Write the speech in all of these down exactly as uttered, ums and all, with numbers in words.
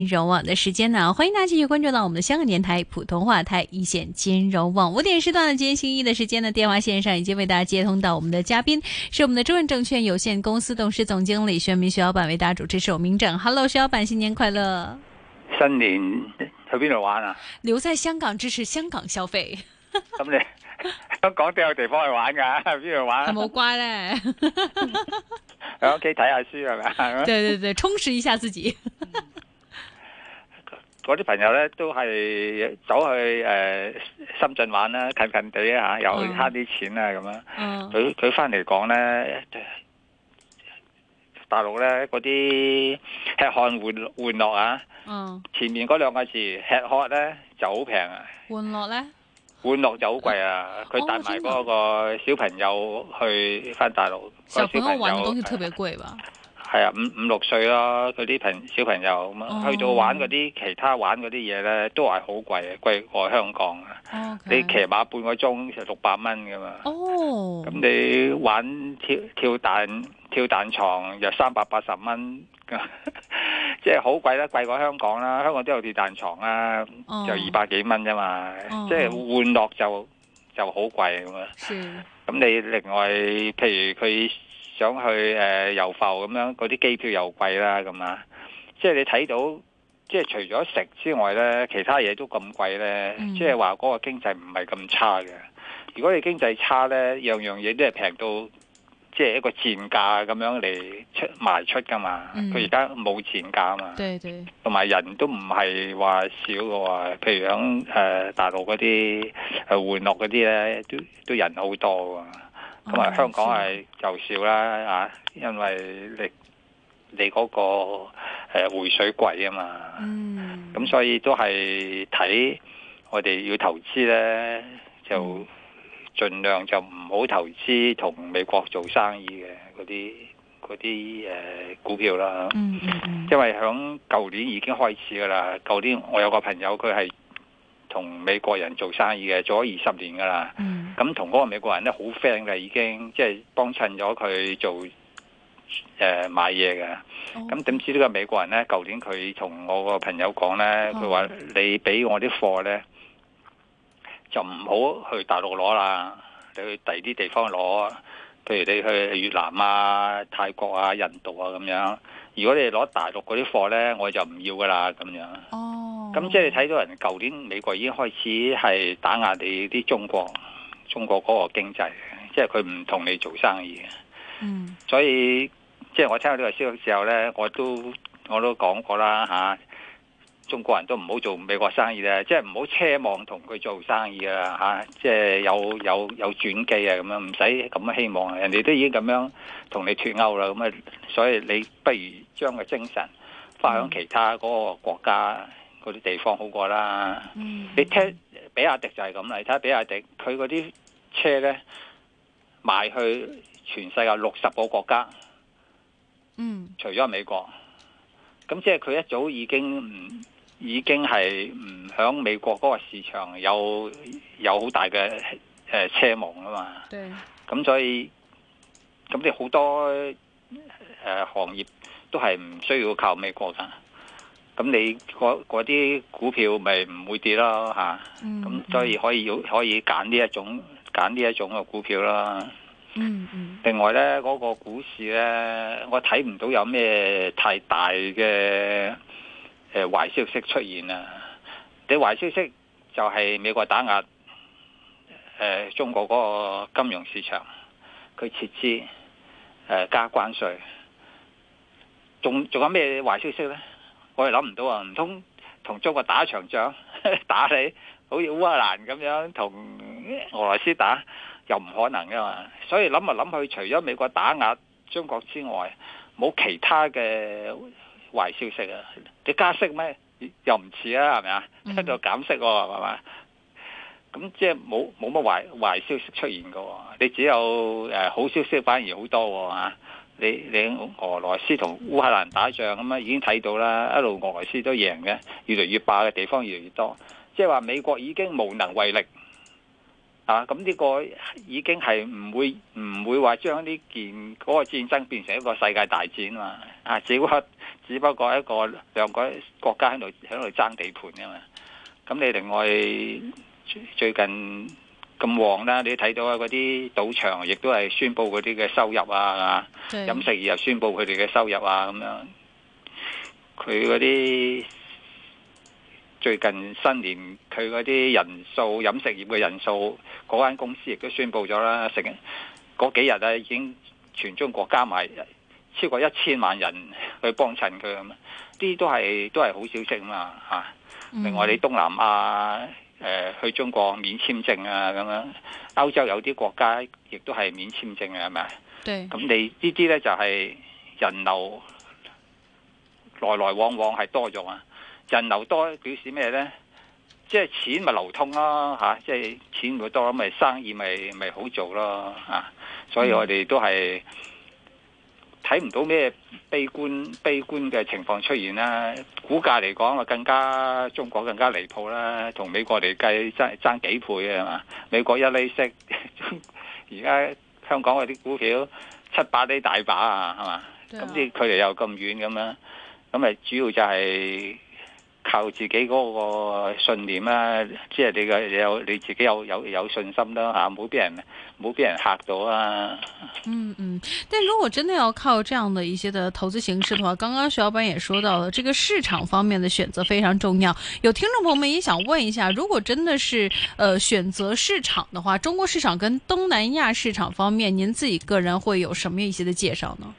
金融網的時間呢，歡迎大家繼續關注到我們的香港電台普通話台一線金融網五點時段的今天星期一的時間呢，電話線上已經為大家接通到我們的嘉賓是我們的中潤證券有限公司董事總經理徐潤民徐老闆，為大家主持是我明正。Hello，徐老闆，新年快樂！ 新年去邊度玩啊？ 留在香港支持香港消費。 咁你香港都有地方去玩㗎，邊度玩？ 係冇乖咧， 喺屋企睇下書係咪？ 對對對，充實一下自己。 嗰啲朋友咧都係走去誒、呃、深圳玩啦，近近地啊，又慳啲錢啊咁樣。佢佢翻嚟講咧，大陸咧嗰啲吃喝玩玩樂啊，嗯、前面嗰兩個字吃喝咧就好平啊。玩樂咧？玩樂就好貴啊！佢帶埋嗰個小朋友去翻大陸， 小朋友玩嘅東西特別貴吧？ 係啊，五五六歲咯，佢啲朋小朋友咁啊，去到玩嗰啲其他玩嗰啲嘢咧，都係好貴啊，貴過香港啊！你騎馬半個鐘就六百蚊噶嘛。哦，咁你玩跳跳彈跳彈床又三百八十蚊，即係好貴啦，貴過香港啦。香港都有跳彈床啊，就二百幾蚊啫嘛。即係玩樂就就好貴咁啊。咁你另外譬如佢想去誒遊浮咁樣，嗰啲機票又貴啦咁啊！即係你睇到，即係除咗食之外咧，其他嘢都咁貴咧，嗯、即係話嗰個經濟唔係咁差嘅。如果你經濟差咧，樣樣嘢都係平到，即係一個賤價咁樣嚟出賣出噶嘛。佢而家冇賤價啊嘛。對對。同埋人都唔係話少嘅喎，譬如響誒、呃、大陸嗰啲誒玩樂嗰啲咧，都都人好多喎。咁啊，香港係就少啦啊，因為你你嗰個誒匯水貴啊嘛，咁、嗯、所以都係睇我哋要投資咧，就盡量就唔好投資同美國做生意嘅嗰啲嗰啲誒股票啦，嗯嗯嗯、因為響舊年已經開始噶啦，舊年我有個朋友佢係同美國人做生意嘅，做咗二十年噶啦。咁同嗰個美國人咧好 friend 嘅，已經即係幫襯咗佢做誒、呃、買嘢嘅。咁點、oh. 知呢個美國人咧，舊年佢同我個朋友講咧，佢話、oh. 你俾我啲貨咧，就唔好去大陸攞啦，你去第二啲地方攞，譬如你去越南啊、泰國啊、印度啊咁樣。如果你攞大陸嗰啲貨咧，我就唔要噶啦咁樣。哦，咁即係你睇到人舊年美國已經開始係打壓你啲中國，中國嗰個經濟，即係佢唔同你做生意嘅。嗯，所以即係我聽到呢個消息之後咧，我都我都講過啦吓、啊，中國人都唔好做美國生意咧，即係唔好奢望同佢做生意啊吓，即係有有有轉機啊咁樣，唔使咁樣希望，人哋都已經咁樣同你脫鈎啦，咁啊，所以你不如將個精神放喺其他嗰個國家嗰啲地方好過啦。嗯、你聽比亞迪就係咁啦，你睇下比亞迪佢嗰啲車咧賣去全世界六十個國家，嗯，除咗美國，咁即係佢一早已經唔已經係唔響美國嗰個市場有有好大嘅誒奢望啊嘛。對，咁所以咁你好多誒、呃、行業都係唔需要靠美國噶，咁你嗰啲股票咪唔會跌咯吓，咁、嗯嗯、所以可以可以揀呢一種揀呢一種嘅股票啦。嗯嗯。另外咧，嗰、那個股市咧，我睇唔到有咩太大嘅誒壞消息出現啊！你壞消息就係美國打壓誒、呃、中國嗰個金融市場，佢撤資誒、呃、加關稅，仲仲有咩壞消息咧？我哋諗唔到啊！唔通同中國打一場仗，打你好似烏克蘭咁樣同俄羅斯打？又唔可能噶嘛，所以諗嚟諗去，除咗美國打壓中國之外，冇其他嘅壞消息啊！你加息咩？又唔似啊，係咪啊？喺度減息喎，係嘛？咁即係冇冇乜壞壞消息出現噶，你只有誒、呃、好消息反而好多啊！你你俄羅斯同烏克蘭打仗咁啊，已經睇到啦，一路俄羅斯都贏嘅，越嚟越霸嘅地方越嚟越多，即係話美國已經無能為力。啊！咁呢個已經係唔會唔會話將呢件嗰個戰爭變成一個世界大戰嘛？啊，只不過只只不過一個兩個國家喺度喺度爭地盤啫嘛。咁你另外最近咁旺啦，你睇到啊嗰啲賭場亦都係宣布嗰啲嘅收入啊，飲食業又宣布佢哋嘅收入啊咁樣。佢嗰啲最近新年佢嗰啲人數飲食業嘅人數，嗰間公司亦都宣布咗啦，成嗰幾日啊已經全中國加埋超過一千萬人去幫襯佢咁，啲都係都係好消息嘛嚇。另外你東南亞誒、呃、去中國免簽證啊咁樣，歐洲有啲國家亦都係免簽證啊，係咪？ 對。咁你呢啲咧就係人流來來往往係多咗啊！人流多表示咩咧？即係錢咪流通咯嚇，即係錢會多，咪生意咪咪好做咯嚇。所以我哋都係睇唔到咩悲觀悲觀嘅情況出現啦。股價嚟講啊，更加中國更加離譜啦，同美國嚟計爭爭幾倍啊嘛。美國一厘息，而家香港嗰啲股票七八厘大把啊，係嘛？咁啲距離又咁遠咁樣，咁咪主要就係靠自己嗰個信念啦，即係你嘅有你自己有有有信心啦嚇，冇俾人冇俾人嚇到啊。 嗯嗯，但如果真的要靠這樣的一些的投資形式的話，剛剛徐老闆也說到了，這個市場方面的選擇非常重要。有聽眾朋友們也想問一下，如果真的是呃選擇市場的話，中國市場跟東南亞市場方面，您自己個人會有什麼一些的介紹呢？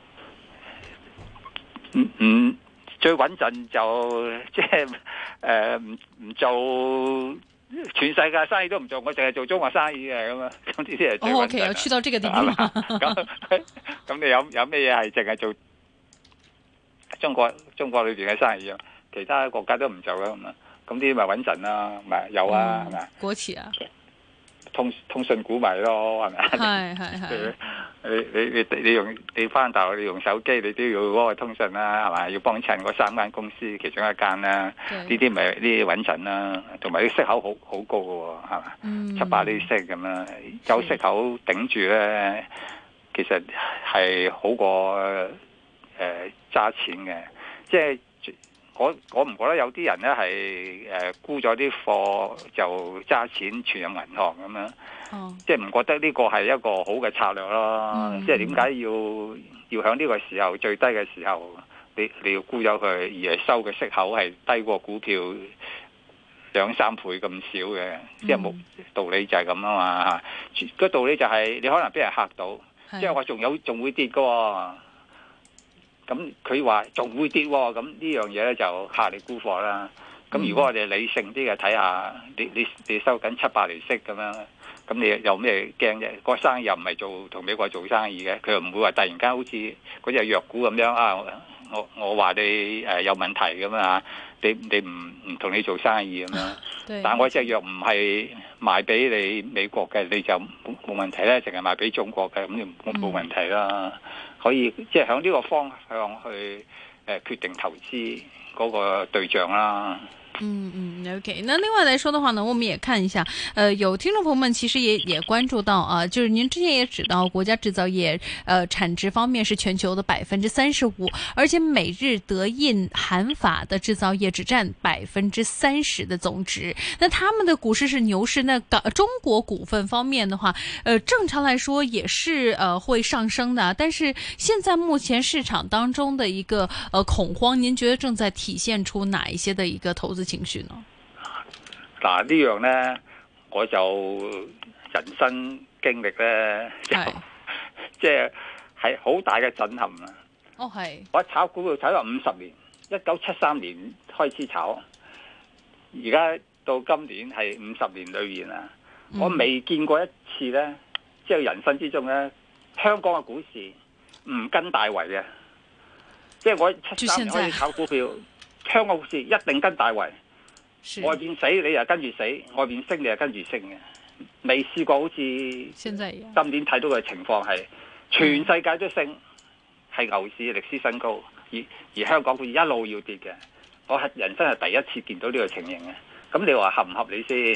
嗯嗯。最穩陣就即係誒唔唔做全世界生意都唔做，我淨係做中國生意嘅咁啊！咁呢啲係最穩陣。O K，要去到這個地步。咁咁你有有咩嘢係淨係做中國中國裏邊嘅生意啊？其他國家都唔做啦咁啊！咁啲咪穩陣啦，咪有啊，係咪啊？ 國企啊， 通通訊股咪咯，係咪啊？係係係。你你你你用你翻大陸你用手機你都要嗰個通訊啦，係嘛？要幫襯嗰三間公司其中一間啦，呢啲咪呢啲穩陣啦，同埋啲息口好好高嘅，係嘛？嗯、七八厘息咁啦，有息口頂住咧，其實係好過誒揸、呃、錢嘅。即係我我唔覺得有啲人咧係誒沽咗啲貨就揸錢存入銀行咁樣。Oh. 即係唔覺得呢個係一個好嘅策略咯。Mm-hmm. 即係點解要要喺呢個時候最低嘅時候，你你要沽咗佢，而係收嘅息口係低過股票兩三倍咁少嘅，mm-hmm. 即係冇道理就係咁啊嘛。個道理就係你可能俾人嚇到，mm-hmm. 即係話仲有仲會跌㗎喎。咁佢話仲會跌喎，咁呢樣嘢咧就嚇你沽貨啦。咁如果我哋理性啲嘅睇下，你你你收緊七八厘息咁樣。咁你有咩驚啫？個生意又唔係做同美國做生意嘅，佢又唔會話突然間好似嗰隻藥股咁樣啊！我我話你誒有問題咁啊！你你唔唔同你做生意咁樣。但係我隻藥唔係賣俾你美國嘅，你就冇冇問題咧，淨係賣俾中國嘅，咁就冇問題啦。可以即係向呢個方向去誒決定投資嗰個對象啦。 嗯嗯 ，OK。那另外來說的話呢，我們也看一下，呃，有聽眾朋友們其實也也關注到啊，就是您之前也指到國家製造業，呃，產值方面是全球的百分之三十五，而且美日德印韓法的製造業只佔百分之三十的總值。那他們的股市是牛市，那港中國股份方面的話，呃，正常來說也是呃會上升的，但是現在目前市場當中的一個呃恐慌，您覺得正在體現出哪一些的一個投資情緒呢？ 嗱，呢樣呢，我就人生經歷呢，就即係係好大嘅震撼啊！ 哦，係我炒股票炒咗五十年，一九七三年開始炒，而家到今年係五十年裏面啊，嗯，我未見過一次呢，即係人生之中呢，香港嘅股市唔跟大圍嘅，即係我七三年開始炒股票，香港股市一定跟大圍。外邊死你又跟住死，外邊升你又跟住升嘅，未試過好似今年睇到嘅情況係全世界都升，係牛市歷史新高，而而香港股市一路要跌嘅，我係人生係第一次見到呢個情形嘅。咁你話合唔合理先？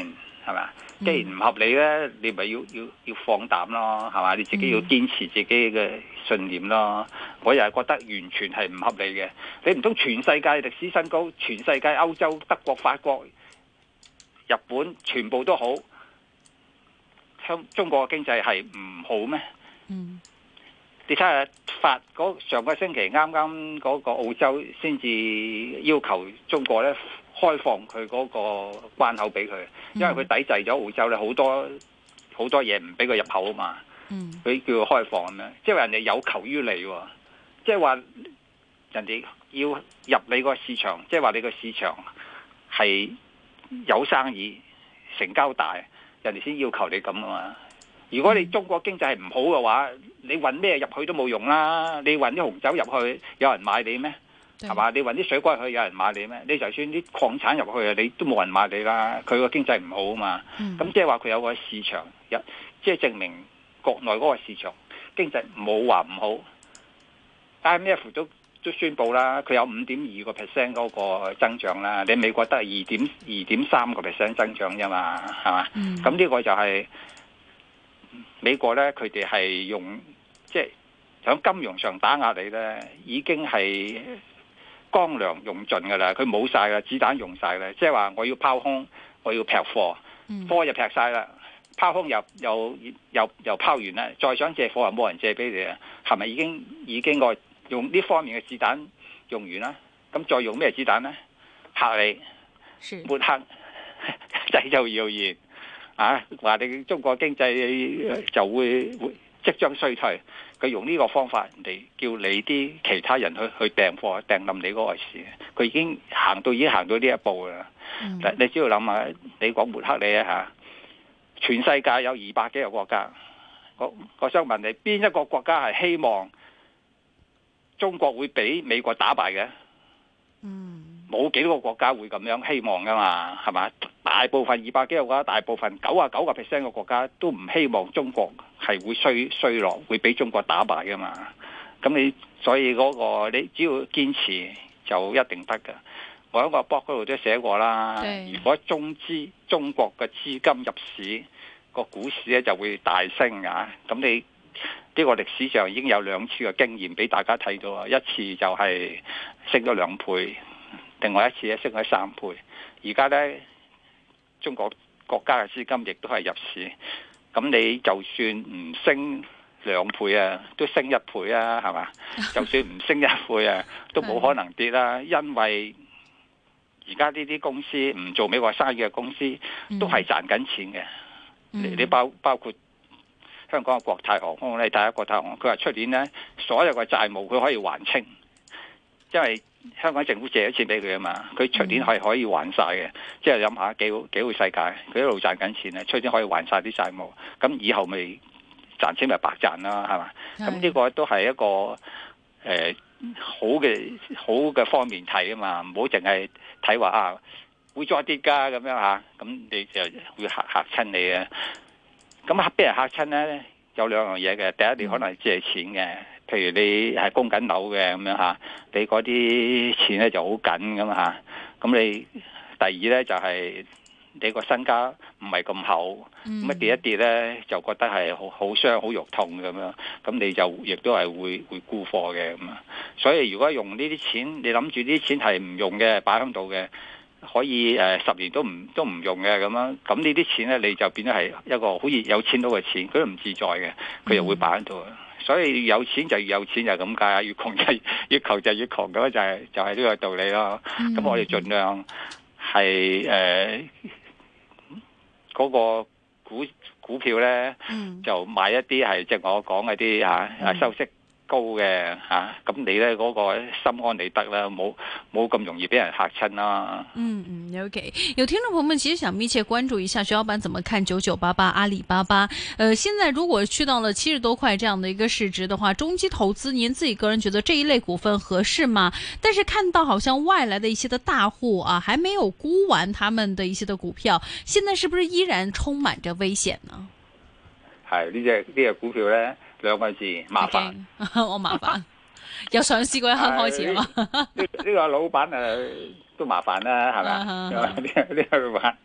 係咪？既然唔合理咧，你咪要要要放膽咯，係嘛？你自己要堅持自己嘅信念咯。我又係覺得完全係唔合理嘅。你唔通全世界歷史新高，全世界歐洲、德國、法國、日本全部都好，香中國嘅經濟係唔好咩？嗯，你睇下法嗰上個星期啱啱嗰個澳洲先至要求中國咧開放佢嗰個關口俾佢，因為佢抵制咗澳洲咧好多好多嘢唔俾佢入口啊嘛。嗯，佢叫佢開放咁樣，即係話人哋有求於你，即係話人哋要入你個市場，即係話你個市場係有生意成交大，人哋先要求你咁啊嘛。如果你中國經濟係唔好嘅話，你運咩入去都冇用啦。你運啲紅酒入去，有人買你咩？係嘛？你運啲水果入去，有人買你咩？你就算啲礦產入去啊，你都冇人買你啦。佢個經濟唔好啊嘛。咁即係話佢有個市場，即係證明國內嗰個市場經濟冇話唔好。I M F 都都宣布啦，佢有五點二個 percent 嗰個增長啦。你美國得係二點二點三個 percent 增長啫嘛，係嘛？咁呢、嗯、個就係、是。美國咧，佢哋係用即係喺金融上打壓你咧，已經係乾糧用盡噶啦，佢冇晒啦，子彈用晒啦，即係話我要拋空，我要劈貨，貨就劈晒啦，拋空又又又又拋完啦，再想借貨又冇人借俾你啊，係咪已經已經個用呢方面嘅子彈用完啦？咁再用咩子彈咧？嚇你，抹黑，製造謠言。啊！話你中國經濟就會會即將衰退，佢用呢個方法嚟叫你啲其他人去去訂貨訂冧你嗰個市，佢已經行到已經行到呢一步啦。嗯、你只要諗下，你講抹黑你啊嚇！全世界有二百幾個國家，我我想問你，邊一個國家係希望中國會俾美國打敗嘅？嗯。冇幾個國家會咁樣希望噶嘛，係嘛？大部分二百幾個國家，大部分九啊九個 percent 嘅國家都唔希望中國係會衰衰落，會俾中國打敗噶嘛。咁你所以嗰個你只要堅持就一定得噶。我喺個 blog 嗰度都寫過啦。對如果中資中國嘅資金入市，個股市咧就會大升啊。咁你呢個歷史上已經有兩次嘅經驗俾大家睇到啊，一次就係升咗兩倍。另外一次咧升咗三倍，而家咧中國國家嘅資金亦都係入市，咁你就算唔升兩倍啊，都升一倍啊，係嘛？就算唔升一倍啊，都冇可能跌啦，因為而家呢啲公司唔做美國生意嘅公司都係賺緊錢嘅。你、嗯、你包包括香港嘅國泰航空咧，第一國泰航空，佢話出年咧所有嘅債務佢可以還清，因為香港政府借咗錢俾佢啊嘛，佢出年係可以還晒嘅，即係諗下幾好幾好世界，佢一路賺緊錢咧，出年可以還晒啲債務，咁以後咪賺錢咪白賺啦，係嘛？咁呢個都係一個誒、呃、好嘅好嘅方面睇啊嘛，唔好淨係睇話啊會再跌噶咁樣吓，咁你就會嚇嚇親你啊！咁嚇俾人嚇親咧，有兩樣嘢嘅，第一你可能係借錢嘅。譬如你係供緊樓嘅咁樣嚇，你嗰啲錢咧就好緊咁嚇。咁你第二咧就係、是、你個身家唔係咁厚，咁一跌一跌咧就覺得係好好傷、好肉痛咁樣。咁你就亦都係會會沽貨嘅咁啊。所以如果用呢啲錢，你諗住呢啲錢係唔用嘅，擺喺度嘅，可以誒、呃、十年都唔都唔用嘅咁樣。咁呢啲錢咧你就變咗係一個好似有錢佬嘅錢，佢都唔自在嘅，佢又會擺喺度。所以有錢就越有錢就係咁解啊，越窮就越窮就越窮，咁就係就係呢個道理咯。咁、嗯、我哋盡量係誒嗰個股股票咧，嗯、就買一啲係即係我講嗰啲嚇收息高嘅嚇，咁、啊、你咧嗰、那個心安理得啦，冇冇咁容易俾人嚇親啦。 嗯嗯，OK。有聽眾朋友們其實想密切關注一下徐老闆怎麼看九九八八阿里巴巴。呃，現在如果去到了七十多塊這樣的一個市值的話，中期投資，您自己個人覺得這一類股份合適嗎？但是看到好像外來的一些的大戶啊，還沒有沽完他們的一些的股票，現在是不是依然充滿着危險呢？ 係呢隻呢隻股票咧。兩個字麻煩，okay. 我麻煩，由上市嗰一刻開始嘛。呢呢個老闆誒都麻煩啦，係咪？呢個呢個老闆，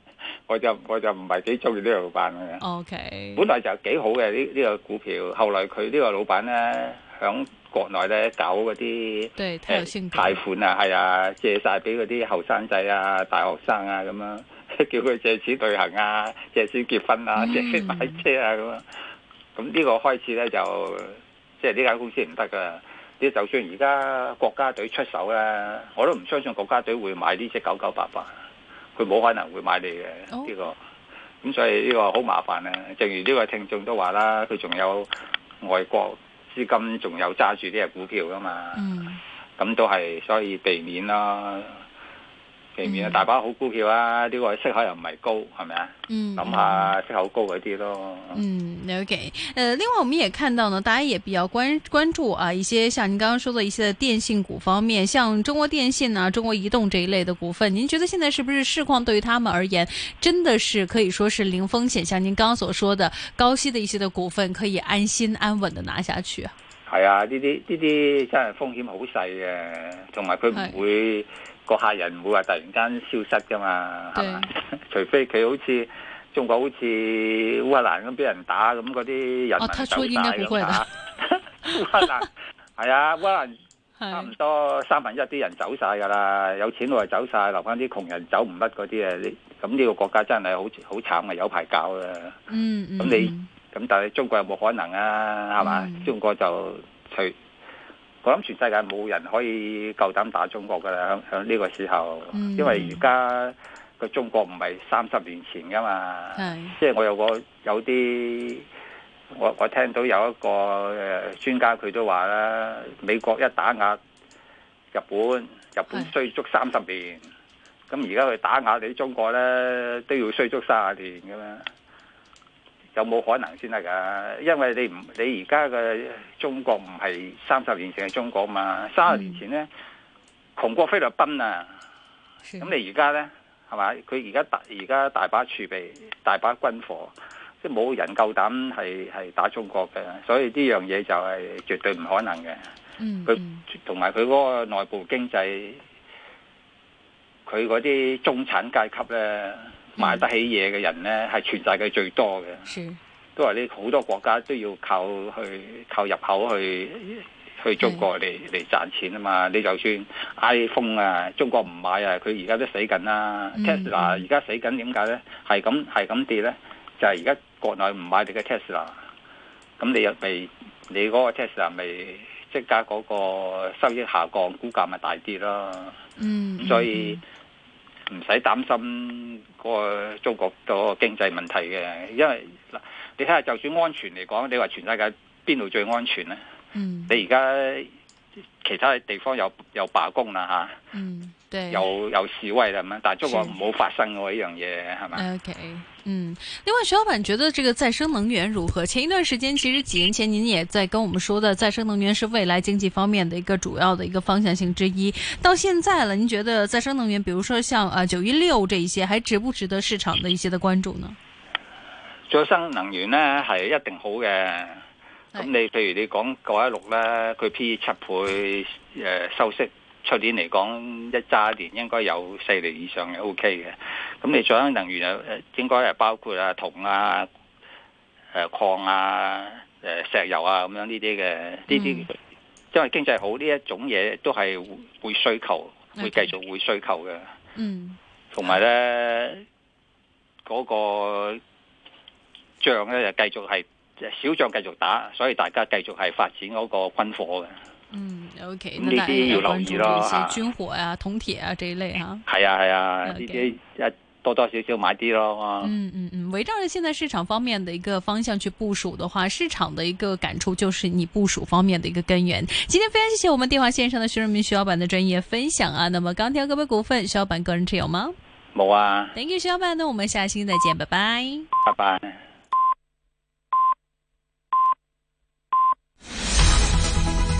我就我就唔係幾中意呢個老闆嘅。 O K， 本來就幾好嘅呢呢個股票，後來佢呢個老闆咧響國內咧搞嗰啲對誒貸款啊，係啊，借晒俾嗰啲後生仔啊、大學生啊咁樣，叫佢借錢旅行啊、借錢結婚啊、借錢買車啊咁樣。咁呢個開始咧就即係呢間公司唔得噶。你就算而家國家隊出手咧，我都唔相信國家隊會買呢隻九九八八，佢冇可能會買你嘅呢、這個。咁所以呢個好麻煩啊！正如呢個聽眾都話啦，佢仲有外國資金，仲有揸住呢隻股票噶嘛。咁、嗯、都係所以避免啦。避免啊！大把好股票啊，呢、這個息口又唔係高，係咪啊？嗯，諗下息口高嗰啲咯。 嗯 ，OK。呃，另外我們也看到呢，大家也比較關關注啊，一些像您剛剛說的一些電信股方面，像中國電信啊、中國移動這一類的股份，您覺得現在是不是市況對於他們而言，真的是可以說是零風險？像您剛剛所說的高息的一些的股份，可以安心安穩的拿下去啊？ 係啊，呢啲呢啲真係風險好細嘅，同埋佢唔會。個客人唔會話突然間消失噶嘛，係嘛？除非佢好似中國好似烏克蘭咁俾人打咁，嗰啲人民走晒咁打。烏克蘭係啊，烏克蘭差唔多三分一啲人走晒噶啦，有錢佬就走晒，留翻啲窮人走唔甩嗰啲啊！咁呢個國家真係好好慘啊，有排搞啊！嗯嗯。咁你咁但係中國有冇可能啊？係嘛？嗯、中國就除。我諗全世界冇人可以夠膽打中國噶啦，響響呢個時候，嗯、因為而家個中國唔係三十年前噶嘛，即係我有個有啲，我我聽到有一個誒專家佢都話啦，美國一打壓日本，日本衰足三十年，咁而家佢打壓你中國咧，都要衰足三十年噶嘛。有冇可能先得噶？因為你唔你而家嘅中國唔係三十年前嘅中國嘛，三十年前咧窮過菲律賓啊！咁你而家咧係嘛？佢而家大而家大把儲備，大把軍火，即係冇人夠膽係係打中國嘅，所以呢樣嘢就係絕對唔可能嘅。佢同埋佢嗰個內部經濟，佢嗰啲中產階級咧。買得起嘢嘅人呢，係全世界最多嘅，是都係呢好多國家都要靠去靠入口去去中國嚟嚟賺錢啊嘛！你就算 iPhone 啊，中國唔買啊，佢而家都死緊啦。嗯、Tesla 而家死緊，點解呢？係咁係咁跌呢？就係而家國內唔買你嘅 Tesla，咁你又未你嗰個 Tesla 咪即刻嗰個收益下降，股價咪大跌咯。嗯，所以。唔使擔心嗰個中國個經濟問題嘅，因為嗱，你睇下就算安全嚟講，你話全世界邊度最安全咧？嗯，你而家其他地方有有罷工啦吓，嗯，對，有有示威啦咁樣，但係中國冇發生過呢樣嘢係咪 ？OK， 嗯，另外徐老闆覺得這個再生能源如何？前一段時間其實幾年前您也在跟我們說的，再生能源是未來經濟方面的一個主要的一個方向性之一。到現在了，您覺得再生能源，比如說像啊九一六這一些，還值不值得市場的一些的關注呢？ 再生能源呢係一定好嘅。咁你譬如你講九一六咧，佢 P 七倍，誒收息，出年嚟講一揸年應該有四厘以上嘅 O K 嘅。咁你再生能源又應該係包括啊銅啊、誒礦啊、誒石油啊咁樣呢啲嘅，呢啲、嗯、因為經濟好呢一種嘢都係會需求，會繼續會需求嘅。嗯，同埋咧嗰個仗咧就繼續係。小仗繼續打，所以大家繼續係發展嗰個軍火嘅。 嗯 ，OK， 呢啲要留意咯嚇。軍火啊、銅鐵啊這一類嚇。 係啊係啊，呢啲一多多少少買啲咯。 嗯嗯嗯，圍繞着現在市場方面的一個方向去部署的話，市場的一個感觸就是你部署方面的一個根源。今天非常謝謝我們電話線上的徐潤民徐老闆的專業分享啊。那麼鋼鐵個別股份，徐老闆個人持有嗎？ 冇啊。 Thank you，徐老闆，那我們下期再見，拜拜。 拜拜。